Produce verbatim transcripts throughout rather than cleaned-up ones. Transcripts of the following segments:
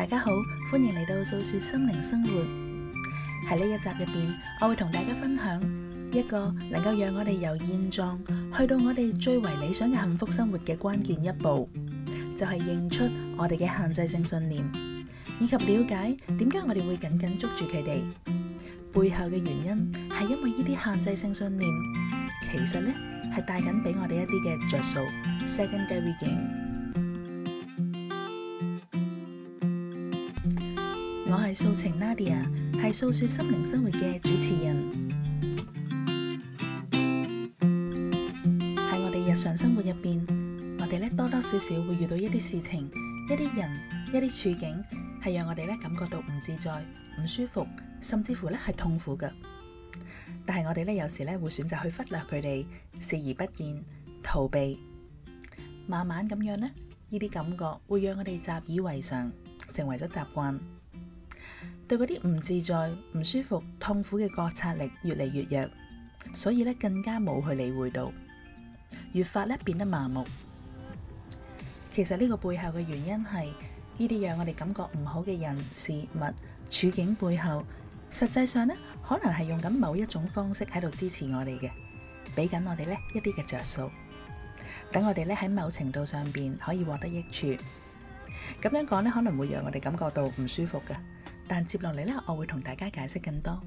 大家好，歡迎嚟到素說心靈生活。喺呢一集入邊，我會同大家分享一個能夠讓我哋由現狀去到我哋最為理想嘅幸福生活嘅關鍵一步，就係認出我哋嘅限制性信念，以及了解點解我哋會緊緊捉住佢哋。背後嘅原因係因為呢啲限制性信念，其實呢係帶緊俾我哋一啲嘅着數 （secondary gain）。我係素晴 Nadia， 係素說心靈生活嘅主持人。喺我哋日常生活入邊，我哋咧多多少少會遇到一啲事情、一啲人、一啲處境，係讓我哋咧感覺到唔自在、唔舒服，甚至乎咧係痛苦嘅。但係我哋咧有時咧會選擇去忽略佢哋，視而不見、逃避。慢慢咁樣咧，呢啲感覺會讓我哋習以為常，成為咗習慣。對嗰啲唔自在、唔舒服、痛苦嘅覺察力越嚟越弱，所以咧更加冇去理會到，越發咧變得麻木。其實呢個背後嘅原因係呢啲讓我哋感覺唔好嘅人、事物、處境背後，實際上咧可能係用緊某一種方式喺度支持我哋嘅，俾緊我哋咧一啲嘅着數，等我哋咧喺某程度上邊可以獲得益處。咁樣講咧可能會讓我哋感覺到唔舒服嘅。但接落嚟咧，我會同大家解釋更多。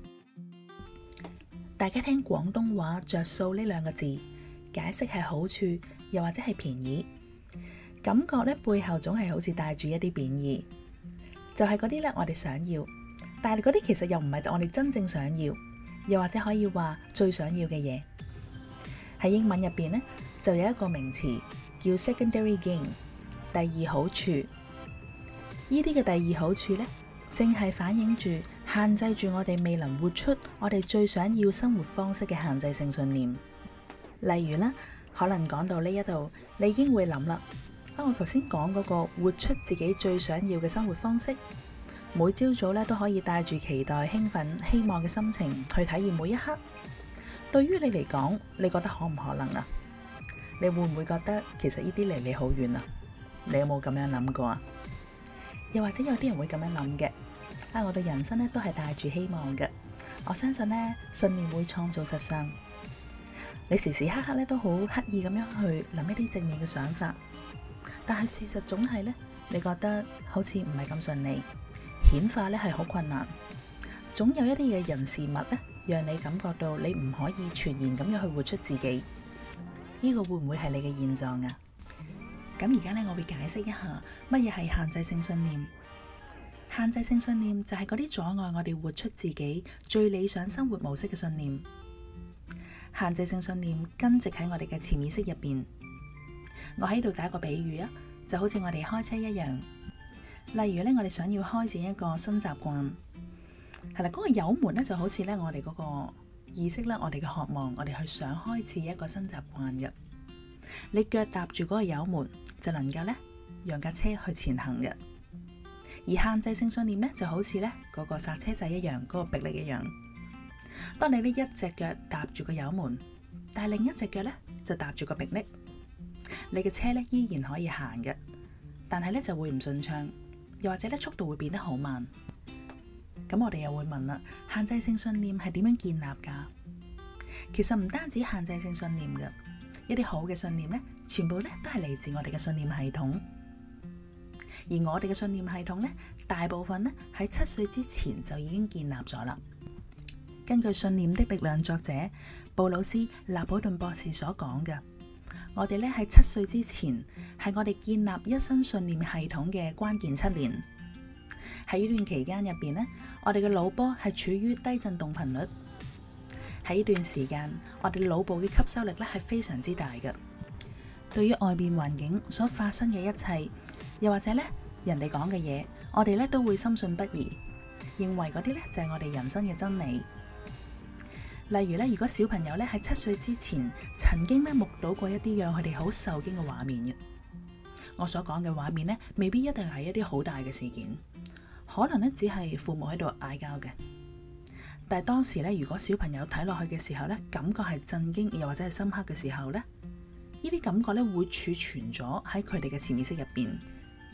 大家聽廣東話着數呢兩個字，解釋係好處，又或者係便宜，感覺咧背後總係好似帶住一啲貶義，就係嗰啲咧我哋想要，但係嗰啲其實又唔係我哋真正想要，又或者可以話最想要嘅嘢。喺英文入邊咧，就有一個名詞叫 secondary gain， 第二好處。呢啲嘅第二好處咧，正係反映住限制住我哋未能活出我哋最想要生活方式嘅限制性信念。例如啦，可能講到呢一度，你已經會諗啦，啊，我頭先講嗰個活出自己最想要嘅生活方式，每朝早咧都可以帶住期待、興奮、希望嘅心情去體驗每一刻。對於你嚟講，你覺得可唔可能啊？你會唔會覺得其實呢啲離你好遠啊？你有冇咁樣諗過啊？又或者有啲人會咁樣諗嘅，啊，我對人生咧都係帶住希望嘅。我相信咧，信念會創造實相。你時時刻刻咧都好刻意咁樣去諗一啲正面嘅想法，但係事實總係咧，你覺得好似唔係咁順利，顯化咧係好困難。總有一啲嘅人事物咧，讓你感覺到你唔可以全然咁樣去活出自己。呢個會唔會係你嘅現狀啊？咁而家咧，我會解釋一下乜嘢係限制性信念。限制性信念就係嗰啲阻礙我哋活出自己最理想生活模式嘅信念。限制性信念根植喺我哋嘅潛意識入邊。我喺度打個比喻啊，就好似我哋開車一樣。例如咧，我哋想要開展一個新習慣，係啦，嗰個油門咧就好似咧我哋嗰個意識啦，我哋嘅渴望，我哋去想開始一個新習慣嘅。你腳踏住嗰個油門，就能夠咧讓架車去前行嘅。而限制性信念咧就好似咧嗰個剎車掣一樣，嗰個迫力一樣。當你呢一隻腳踏住個油門，但係另一隻腳咧就踏住個迫力，你嘅車咧依然可以行嘅，但係咧就會唔順暢，又或者咧速度會變得好慢。咁我哋又會問啦，限制性信念係點樣建立噶？其實唔單止限制性信念嘅。一啲好嘅信念咧，全部咧都係嚟自我哋嘅信念系統。而我哋嘅信念系統咧，大部分咧喺七歲之前就已經建立咗啦。根據《信念的力量》作者布魯斯·納普頓博士所講嘅，我哋咧喺七歲之前係我哋建立一生信念系統嘅關鍵七年。喺呢段期間入邊咧，我哋嘅腦波係處於低振動頻率。喺呢段時間，我哋腦部嘅吸收力咧係非常之大嘅。對於外邊環境所發生嘅一切，又或者咧人哋講嘅嘢，我哋咧都會深信不疑，認為嗰啲咧就係我哋人生嘅真理。例如咧，如果小朋友咧喺七歲之前曾經咧目睹過一啲讓佢哋好受驚嘅畫面嘅，我所講嘅畫面咧未必一定係一啲好大嘅事件，可能咧只係父母喺度嗌交嘅。但係當時咧，如果小朋友睇落去嘅時候咧，感覺係震驚，又或者係深刻嘅時候咧，呢啲感覺咧會儲存咗喺佢哋嘅潛意識入邊，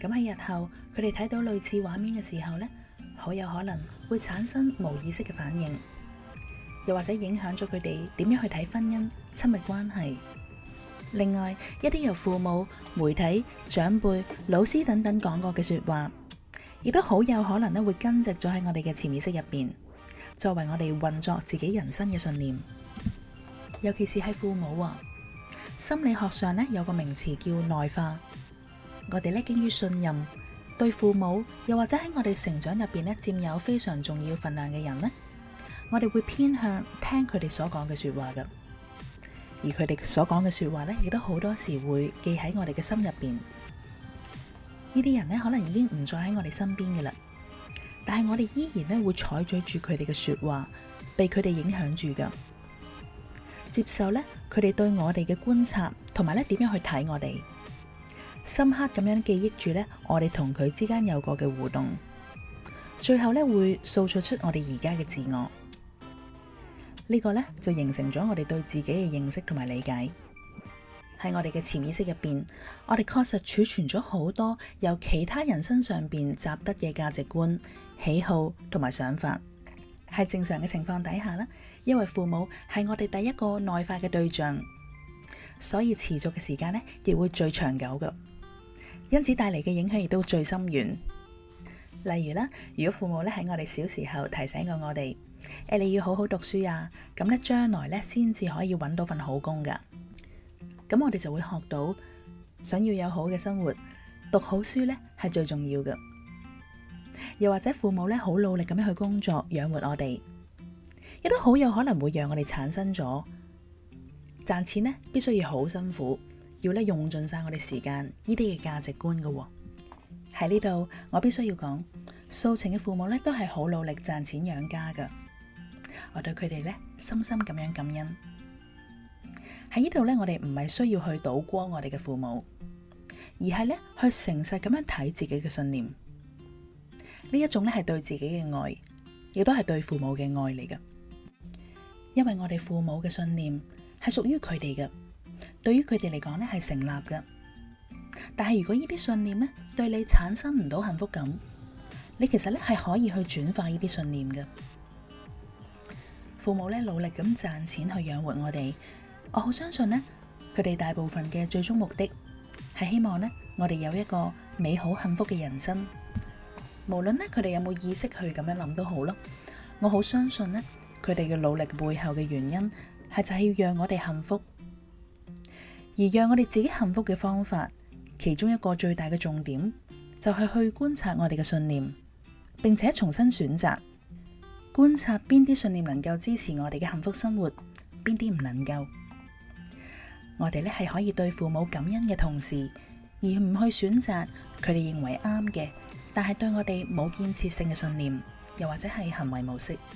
咁喺日後佢哋睇到類似畫面嘅時候呢，好有可能會產生無意識嘅反應，又或者影響咗佢哋點樣去睇婚姻、親密關係。另外，一啲由父母、媒體、長輩、老師等等講過嘅說話，亦都好有可能咧會根植咗喺我哋嘅潛意識入邊，作為我哋運作自己人生嘅信念。尤其是係父母啊，心理學上咧有個名詞叫內化。我哋咧基於信任，對父母又或者喺我哋成長入邊咧佔有非常重要份量嘅人呢，我哋會偏向聽佢哋所講嘅說話噶。而佢哋所講嘅說話咧，亦都好多時會記喺我哋嘅心入邊。呢啲人咧，可能已經唔再喺我哋身邊嘅啦，但係我哋依然咧會採取住佢哋嘅說話，被佢哋影響住噶，接受咧佢哋對我哋嘅觀察，同埋咧點樣去睇我哋，深刻咁樣記憶住咧我哋同佢之間有過嘅互動，最後咧會塑造出我哋而家嘅自我。呢個咧就形成咗我哋對自己嘅認識同埋理解。喺我哋嘅潛意識入邊，我哋確實儲存咗好多由其他人身上邊習得嘅價值觀、喜好同埋想法。喺正常嘅情況底下呢，因為父母係我哋第一個內化嘅對象，所以持續嘅時間呢亦會最長久嘅，因此帶嚟嘅影響亦都最深遠。例如啦，如果父母咧喺我哋小時候提醒過我哋，誒，你要好好讀書啊，咁咧將來咧先至可以揾到份好工噶。咁我哋就會學到，想要有好嘅生活，讀好書咧係最重要嘅。又或者父母咧好努力咁樣去工作養活我哋，亦都好有可能會讓我哋產生咗賺錢咧必須要好辛苦，要咧用盡晒我哋時間呢啲嘅價值觀噶。喺呢度我必須要講，素晴嘅父母咧都係好努力賺錢養家噶。我對佢哋咧深深咁樣感恩。喺呢度咧，我哋唔係需要去倒光我哋嘅父母，而係咧去誠實咁樣睇自己嘅信念。呢一種咧係對自己嘅愛，亦都係對父母嘅愛嚟噶。因為我哋父母嘅信念係屬於佢哋嘅，對於佢哋嚟講咧係成立嘅。但係如果呢啲信念咧對你產生唔到幸福感，你其實咧係可以去轉化呢啲信念嘅。父母咧努力咁賺錢去養活我哋，我好相信咧佢哋大部分嘅最終目的係希望咧我哋有一個美好幸福嘅人生。無論咧佢哋有冇意識去咁樣諗都好咯，我好相信咧佢哋嘅努力背後嘅原因係就係要讓我哋幸福，而讓我哋自己幸福嘅方法，其中一個最大嘅重點就係去觀察我哋嘅信念，並且重新選擇。觀察邊啲信念能夠支持我哋嘅幸福生活，邊啲唔能夠。我哋咧係可以對父母感恩嘅同時，而唔去選擇佢哋認為啱嘅，但係對我哋冇建設性嘅信念，又或者係行為模式。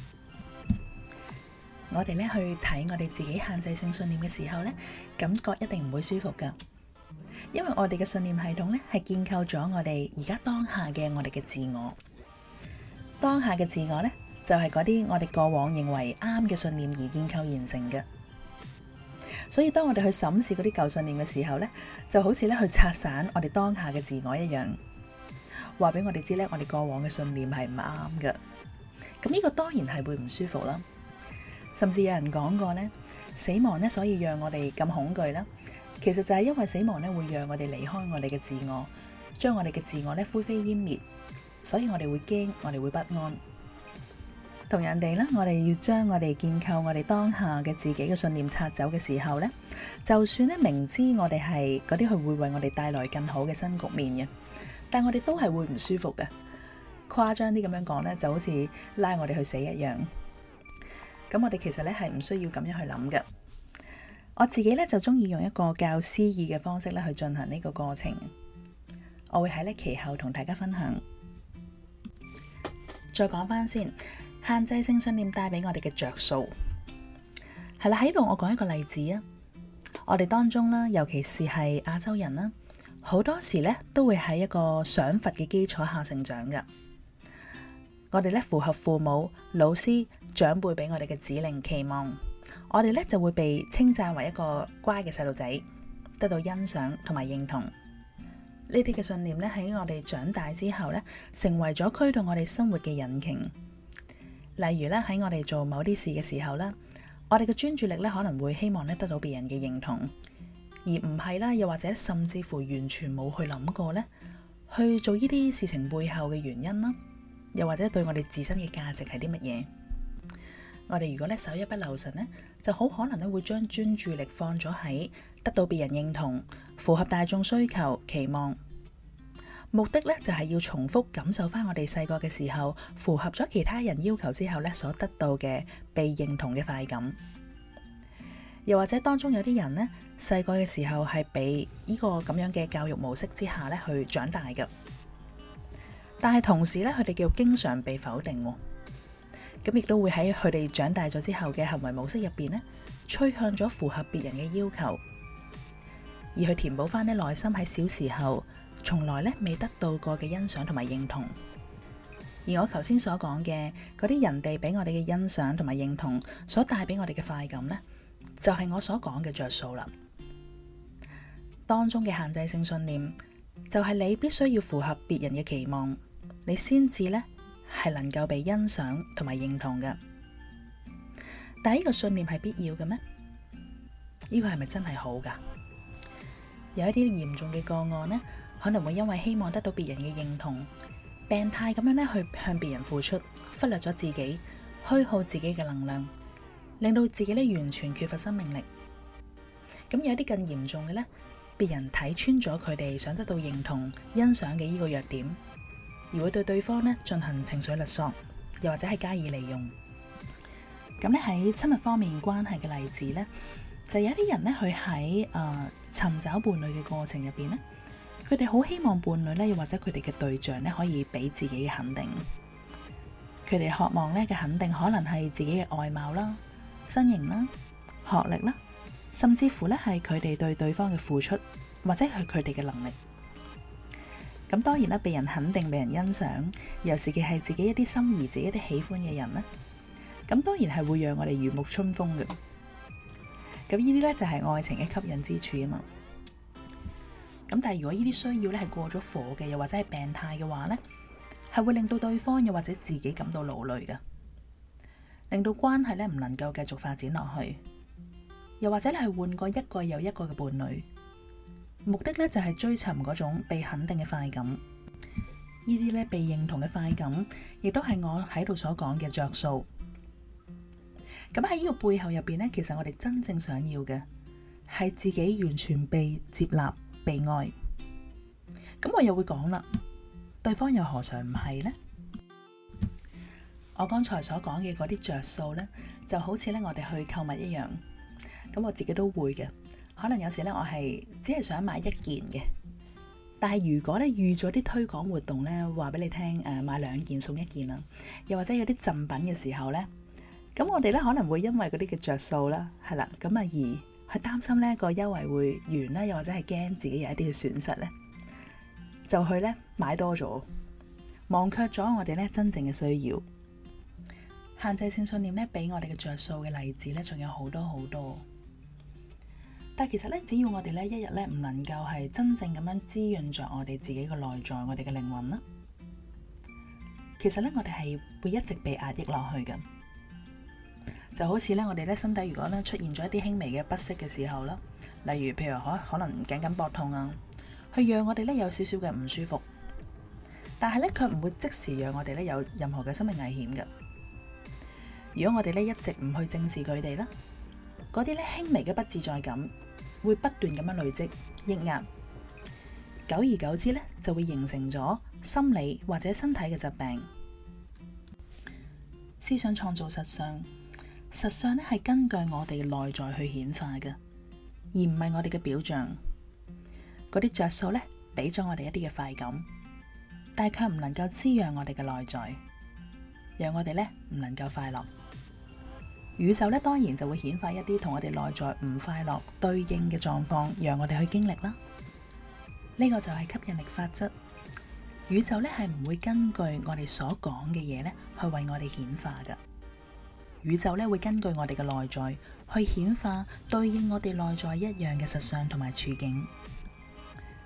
我哋咧去睇我哋自己限制性信念嘅時候咧，感覺一定唔會舒服噶，因為我哋嘅信念系統咧係建構咗我哋而家當下嘅我哋嘅自我。當下嘅自我咧，就係嗰啲我哋過往認為啱嘅信念而建構形成嘅。所以當我哋去審視嗰啲舊信念嘅時候咧，就好似咧去拆散我哋當下嘅自我一樣，話俾我哋知咧，我哋過往嘅信念係唔啱嘅。咁呢個當然係會唔舒服啦。甚至有人講過咧，死亡咧，所以讓我哋咁恐懼啦，其實就係因為死亡咧會讓我哋離開我哋嘅自我，將我哋嘅自我咧灰飛煙滅，所以我哋會驚，我哋會不安。同人哋咧，我哋要將我哋建構我哋當下嘅自己嘅信念拆走嘅時候咧，就算咧明知我哋係嗰啲佢會為我哋帶來更好嘅新局面嘅，但我哋都係會唔舒服嘅。誇張啲咁樣講咧，就好似拉我哋去死一樣。咁我哋其實咧係唔需要咁樣去諗嘅。我自己咧就中意用一個較詩意嘅方式咧去進行呢個過程。我會喺咧其後同大家分享。再講翻先。限制性信念帶俾我哋嘅着數係啦，喺度我講一個例子啊。我哋當中啦，尤其是係亞洲人啦，好多時咧都會喺一個賞罰嘅基礎下成長噶。我哋咧符合父母、老師、長輩俾我哋嘅指令期望，我哋咧就會被稱讚為一個乖嘅細路仔，得到欣賞同埋認同。 呢啲嘅信念咧喺我哋長大之後咧，成為咗驅動我哋生活嘅引擎。例如咧喺我哋做某啲事嘅時候咧，我哋嘅專注力咧可能會希望咧得到別人嘅認同，而唔係啦，又或者甚至乎完全冇去諗過咧去做呢啲事情背後嘅原因啦，又或者對我哋自身嘅價值係啲乜嘢？我哋如果咧手一不留神咧，就好可能咧會將專注力放咗喺得到別人認同、符合大眾需求、期望，目的咧就係要重複感受翻我哋細個嘅時候，符合咗其他人要求之後咧所得到嘅被認同嘅快感。又或者當中有啲人呢，細個嘅時候係俾呢個咁樣嘅教育模式之下咧去長大嘅，但係同時咧佢哋叫經常被否定，咁亦都會喺佢哋長大咗之後嘅行為模式入邊呢，趨向咗符合別人嘅要求，而去填補翻呢內心喺小時候從來咧未得到過嘅欣賞同埋認同。而我頭先所講嘅嗰啲人哋俾我哋嘅欣賞同埋認同所帶俾我哋嘅快感呢，就係我所講嘅着數啦。當中嘅限制性信念就係你必須要符合別人嘅期望，你先至呢係能夠被欣賞同埋認同嘅。但係呢個信念係必要嘅咩？呢個係咪真係好噶？有一啲嚴重嘅個案呢，可能會因為希望得到別人嘅認同，病態咁樣咧去向別人付出，忽略咗自己，虛耗自己嘅能量，令到自己咧完全缺乏生命力。咁有一啲更嚴重嘅呢，別人睇穿咗佢哋想得到認同、欣賞嘅呢個弱點，而會對對方咧進行情緒勒索，又或者係加以利用。咁咧喺親密方面關係嘅例子呢，就有一啲人咧，佢喺誒尋找伴侶嘅過程入邊咧，佢哋好希望伴侶咧，又或者佢哋嘅對象咧，可以俾自己嘅肯定。佢哋渴望咧嘅肯定，可能係自己嘅外貌啦、身形啦、學歷啦，甚至乎咧係佢哋對對方嘅付出，或者係佢哋嘅能力。咁當然啦，被人肯定、被人欣賞，尤其是係自己一啲心儀、自己一啲喜歡嘅人咧，咁當然係會讓我哋如沐春風嘅。咁呢啲咧就係愛情嘅吸引之處啊嘛。咁但係如果呢啲需要咧係過咗火嘅，又或者係病態嘅話咧，係會令到對方又或者自己感到勞累嘅，令到關係咧唔能夠繼續發展落去，又或者咧係換過一個又一個嘅伴侶，目的咧就係追尋嗰種被肯定嘅快感。呢啲咧被認同嘅快感，亦都係我喺度所講嘅着數。咁喺呢個背後入邊呢，其實我哋真正想要嘅係自己完全被接納、被愛。咁我又會講啦，對方又何嘗唔係呢？我剛才所講嘅嗰啲着數呢，就好似咧我哋去購物一樣。咁我自己都會嘅，可能有時咧我係只係想買一件嘅，但係如果咧預咗啲推廣活動咧，話俾你聽誒買兩件送一件啦，又或者有啲贈品嘅時候呢。咁我哋咧可能會因為嗰啲嘅着數啦，係啦，咁啊而去擔心呢個優惠會完啦，又或者係驚自己有一啲嘅損失咧，就去咧買多咗，忘卻咗我哋咧真正嘅需要。限制性信念咧俾我哋嘅着數嘅例子咧，仲有好多好多。但係其實咧，只要我哋咧一日咧唔能夠係真正咁樣滋潤着我哋自己嘅內在，我哋嘅靈魂啦，其實咧我哋係會一直被壓抑落去嘅。就好似咧，我哋咧身體如果咧出現咗一啲輕微嘅不適嘅時候啦，例如譬如可可能頸緊膊痛啊，去讓我哋咧有少少嘅唔舒服，但係咧卻唔會即時讓我哋咧有任何嘅生命危險嘅。如果我哋咧一直唔去正視佢哋啦，嗰啲咧輕微嘅不自在感會不斷咁樣累積抑壓，久而久之咧就會形成咗心理或者身體嘅疾病。思想創造實相。實相咧係根據我哋嘅內在去顯化嘅，而唔係我哋嘅表象。嗰啲着數咧俾咗我哋一啲嘅快感，但係卻唔能夠滋養我哋嘅內在，讓我哋咧唔能夠快樂。宇宙咧當然就會顯化一啲同我哋內在唔快樂對應嘅狀況，讓我哋去經歷啦。呢個就係吸引力法則。宇宙咧係唔會根據我哋所講嘅嘢咧去為我哋顯化嘅。宇宙咧會根據我哋嘅內在去顯化對應我哋內在一樣嘅實相同埋處境。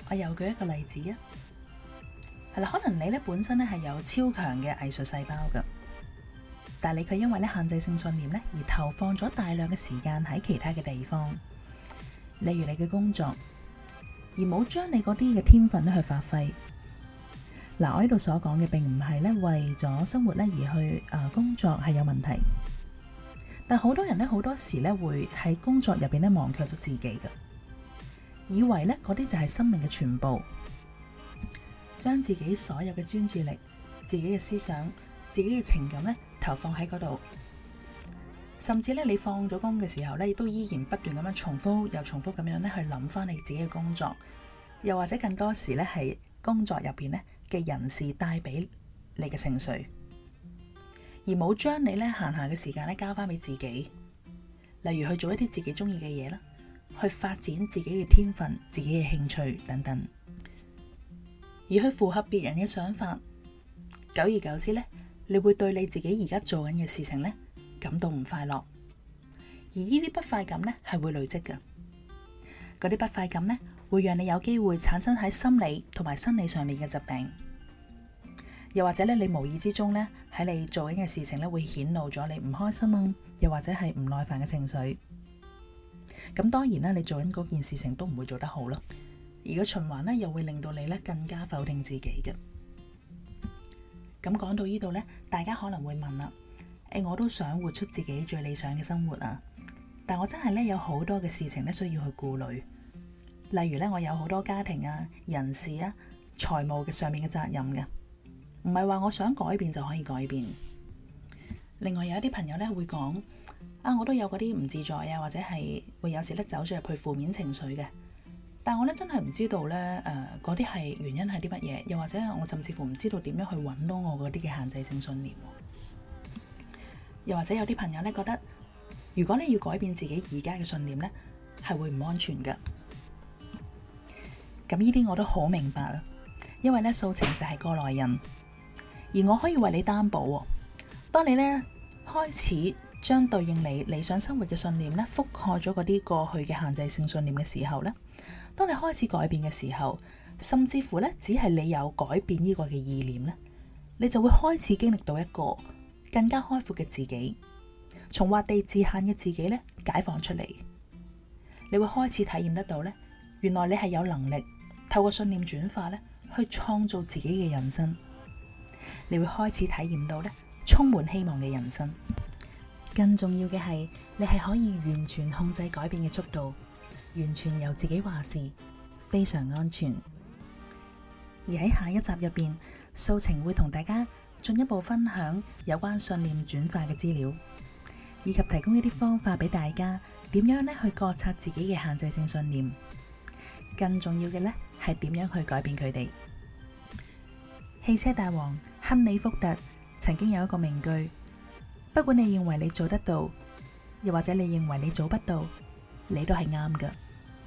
我又舉一個例子啊，係啦，可能你咧本身咧係有超強嘅藝術細胞噶，但係你卻因為咧限制性信念咧而投放咗大量嘅時間喺其他嘅地方，例如你嘅工作，而冇將你嗰啲嘅天分咧去發揮。嗱，我呢度所講嘅並唔係咧為咗生活咧而去誒工作係有問題，但好多人咧好多時咧會喺工作入邊咧忘卻咗自己嘅，以為咧嗰啲就係生命嘅全部，將自己所有嘅專注力、自己嘅思想、自己嘅情感咧投放喺嗰度，甚至咧你放咗工嘅時候咧，都依然不斷咁樣重複又重複咁樣咧去諗翻你自己嘅工作，又或者更多時咧係工作入邊咧嘅人事帶俾你嘅情緒，而冇將你咧閒暇嘅時間咧交翻俾自己，例如去做一啲自己中意嘅嘢啦，去發展自己嘅天分、自己嘅興趣等等，而去符合別人嘅想法，久而久之咧，你會對你自己而家做緊嘅事情咧感到唔快樂，而呢啲不快感咧係會累積嘅，嗰啲不快感咧會讓你有機會產生喺心理同埋生理上面嘅疾病，又或者咧你無意之中咧喺你做緊嘅事情咧會顯露咗你唔開心啊，又或者係唔耐煩嘅情緒。咁當然啦，你做緊嗰件事情都唔會做得好咯，而個循環咧又會令到你咧更加否定自己嘅。咁講到呢度咧，大家可能會問啦，誒，我都想活出自己最理想嘅生活啊，但我真係咧有好多嘅事情咧需要去顧慮。例如咧，我有好多家庭啊、人事啊、財務嘅上面嘅責任嘅，唔係話我想改變就可以改變。另外有一啲朋友咧會講，啊，我都有嗰啲唔自在啊，或者係會有時咧走咗入去負面情緒嘅，但我咧真係唔知道咧，誒嗰啲係原因係啲乜嘢，又或者我甚至乎唔知道點樣去揾到我嗰啲嘅限制性信念。又或者有啲朋友咧覺得，如果你要改變自己而家嘅信念咧，係會唔安全㗎。咁呢啲我都好明白啦，因為咧素晴就係過來人，而我可以為你擔保，當你咧開始將對應你理想生活嘅信念咧覆蓋咗嗰啲過去嘅限制性信念嘅時候咧，當你開始改變嘅時候，甚至乎咧只係你有改變呢個嘅意念咧，你就會開始經歷到一個更加開闊嘅自己，從畫地自限嘅自己咧解放出嚟，你會開始體驗得到咧，原來你係有能力透過信念轉化咧，去創造自己嘅人生。你會開始體驗到咧，充滿希望嘅人生。更重要嘅係，你係可以完全控制改變嘅速度，完全由自己話事，非常安全。而喺下一集入邊，素晴會同大家進一步分享有關信念轉化嘅資料，以及提供一啲方法俾大家，點樣咧去覺察自己嘅限制性信念。更重要嘅咧，係點樣去改變佢哋。汽車大王亨利福特曾經有一個名句，不管你認為你做得到，又或者你認為你做不到，你都係啱㗎。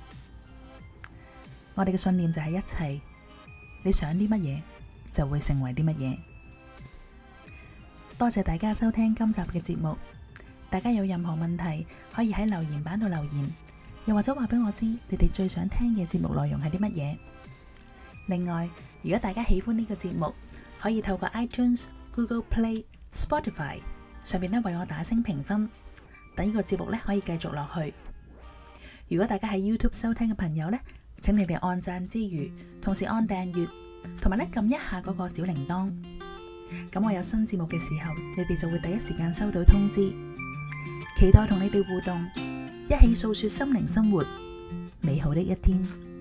我哋嘅信念就係一切，你想啲乜嘢就會成為啲乜嘢。多謝大家收聽今集嘅節目，大家有任何問題可以喺留言板度留言，又或者話俾我知你哋最想聽嘅節目內容係啲乜嘢。另外，如果大家喜歡呢個節目，可以透過 iTunes、Google Play、Spotify 上面咧為我打星評分，等呢個節目咧可以繼續落去。如果大家喺 YouTube 收聽嘅朋友咧，請你哋按讚之餘，同時按訂閱，同埋咧撳一下嗰個小鈴鐺。咁我有新節目嘅時候，你哋就會第一時間收到通知。期待同你哋互動，一起訴說心靈生活美好的一天。